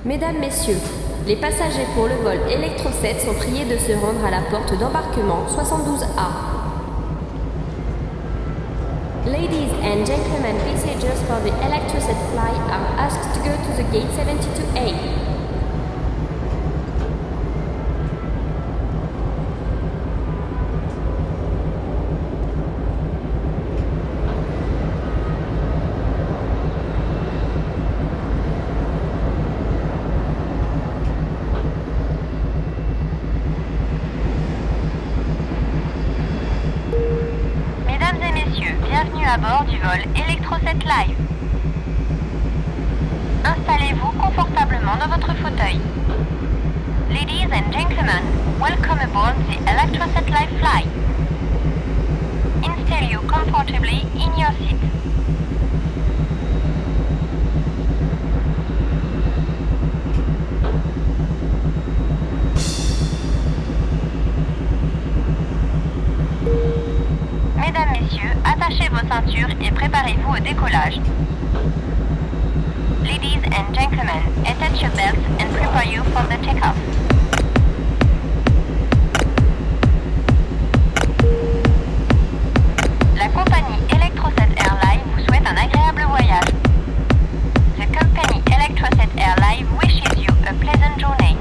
Mesdames, Messieurs, les passagers pour le vol Electro 7 sont priés de se rendre à la porte d'embarquement 72A. Ladies and gentlemen, passengers for the Electro 7 flight are asked to go to the gate 72A. Bienvenue à bord du vol Electro 7 Live. Installez-vous confortablement dans votre fauteuil. Ladies and gentlemen, welcome aboard the Electro 7 Live flight. Install you comfortably in your seat. Mesdames, Messieurs, attachez vos ceintures et préparez-vous au décollage. Ladies and gentlemen, attach your belts and prepare you for the takeoff. La compagnie Electro 7 Airlines vous souhaite un agréable voyage. The company Electro 7 Airlines wishes you a pleasant journey.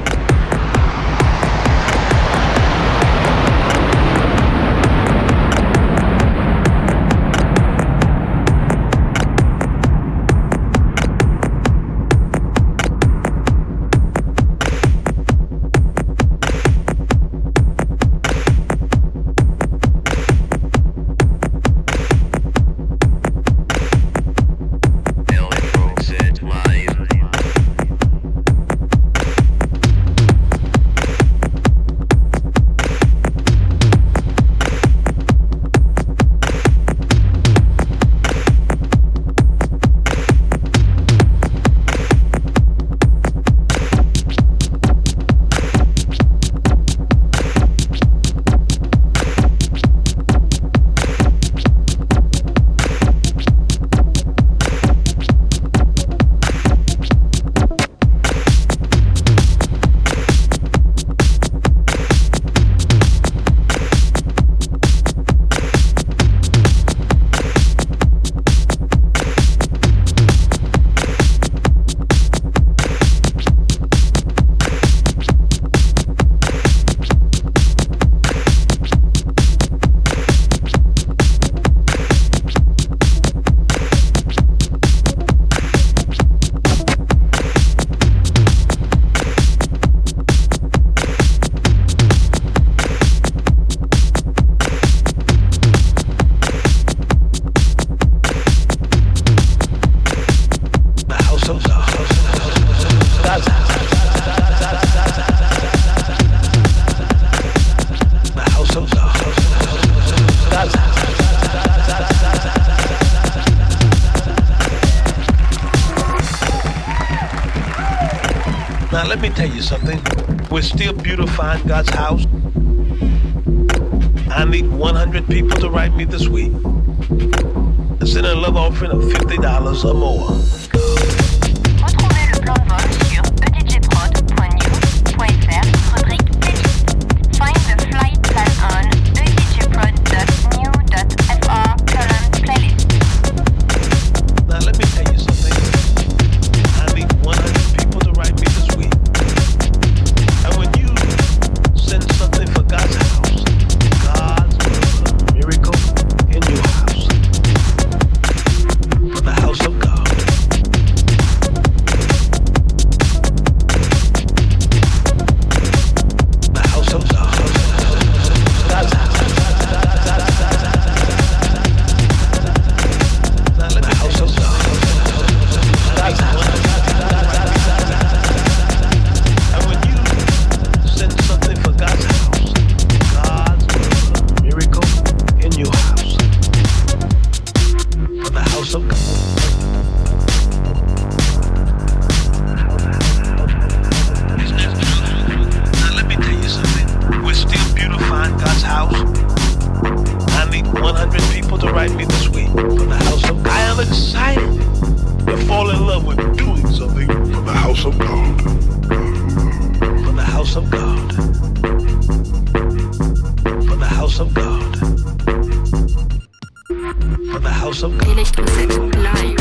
Now let me tell you something. We're still beautifying God's house. I need 100 people to write me this week and send a love offering of $50 or more. Retrouvez le plan de vol sur edjprod.news.fr, rubrique playlist. Find the flight plan on edjprod.new.fr/playlist. Now let me tell you something. I need 100 people to write me this week. And when you send something for God's house, God's will put a miracle in your house. For the house of God. The house of God. God's house. Now let me the house of God. God's house. And when you send something for God's house, God's will put a miracle in your house. For the house of God. Now let me tell you something. We're still beautifying God's house. I need 100 people to write me this week for the house of God. I am excited to fall in love with doing something for the house house of God. For the house of God. For the house of God. For the house of God. Electroset live.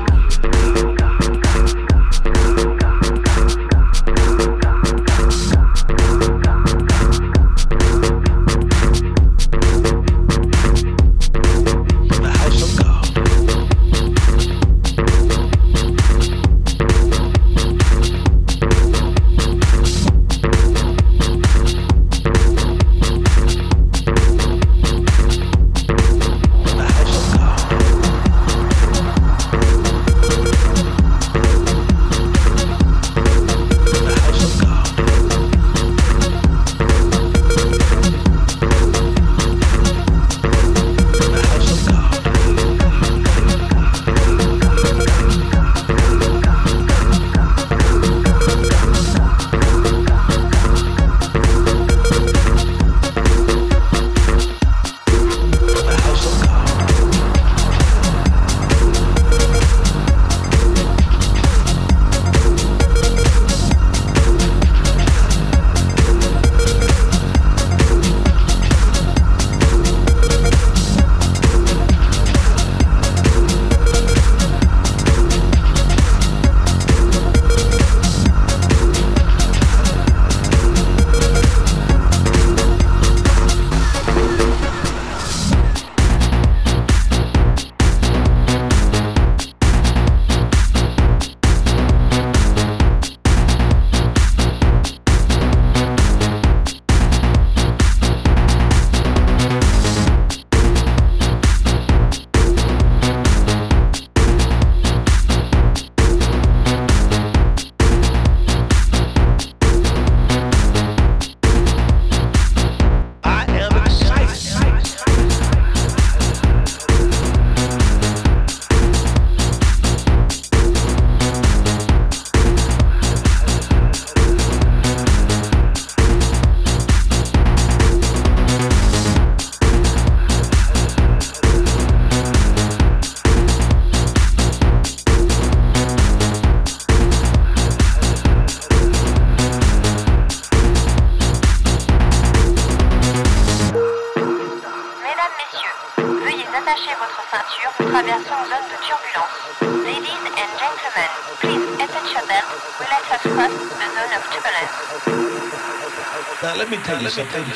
Attachez votre ceinture, nous traversons une zone de turbulence. Ladies and gentlemen, please attach your belt. We let us cross the zone of turbulence. Now let me tell you something.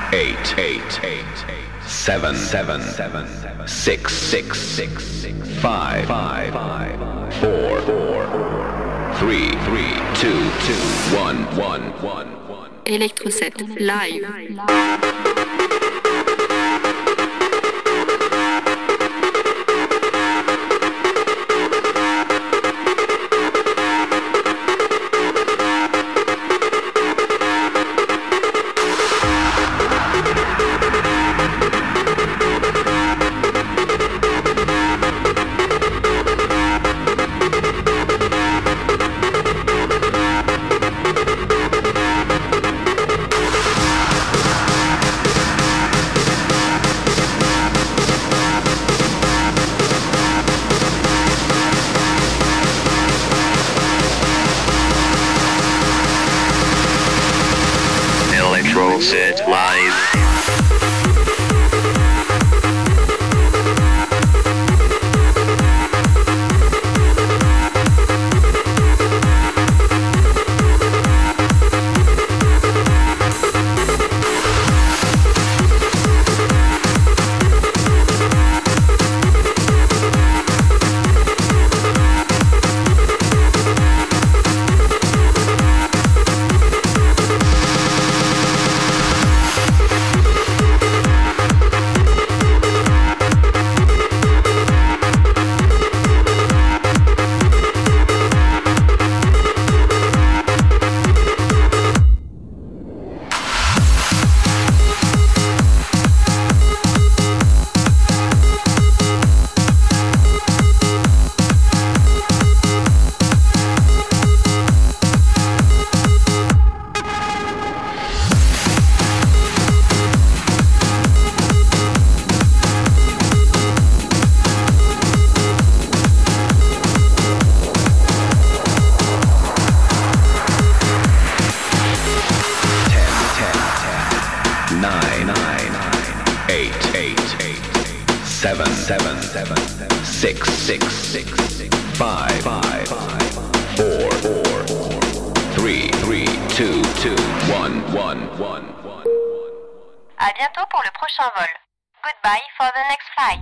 7 6 5 4 3 2 1. Electroset live. Electroset live. À bientôt pour le prochain vol. Goodbye for the next flight.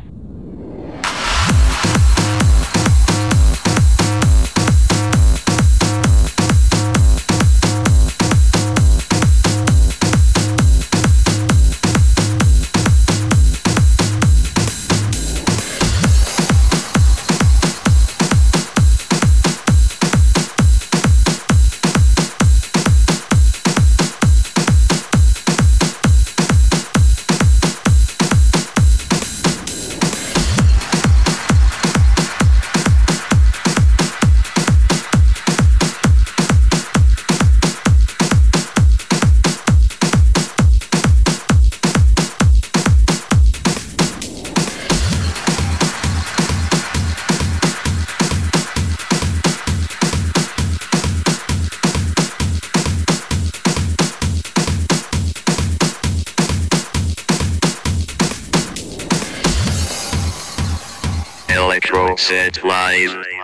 Electroset live.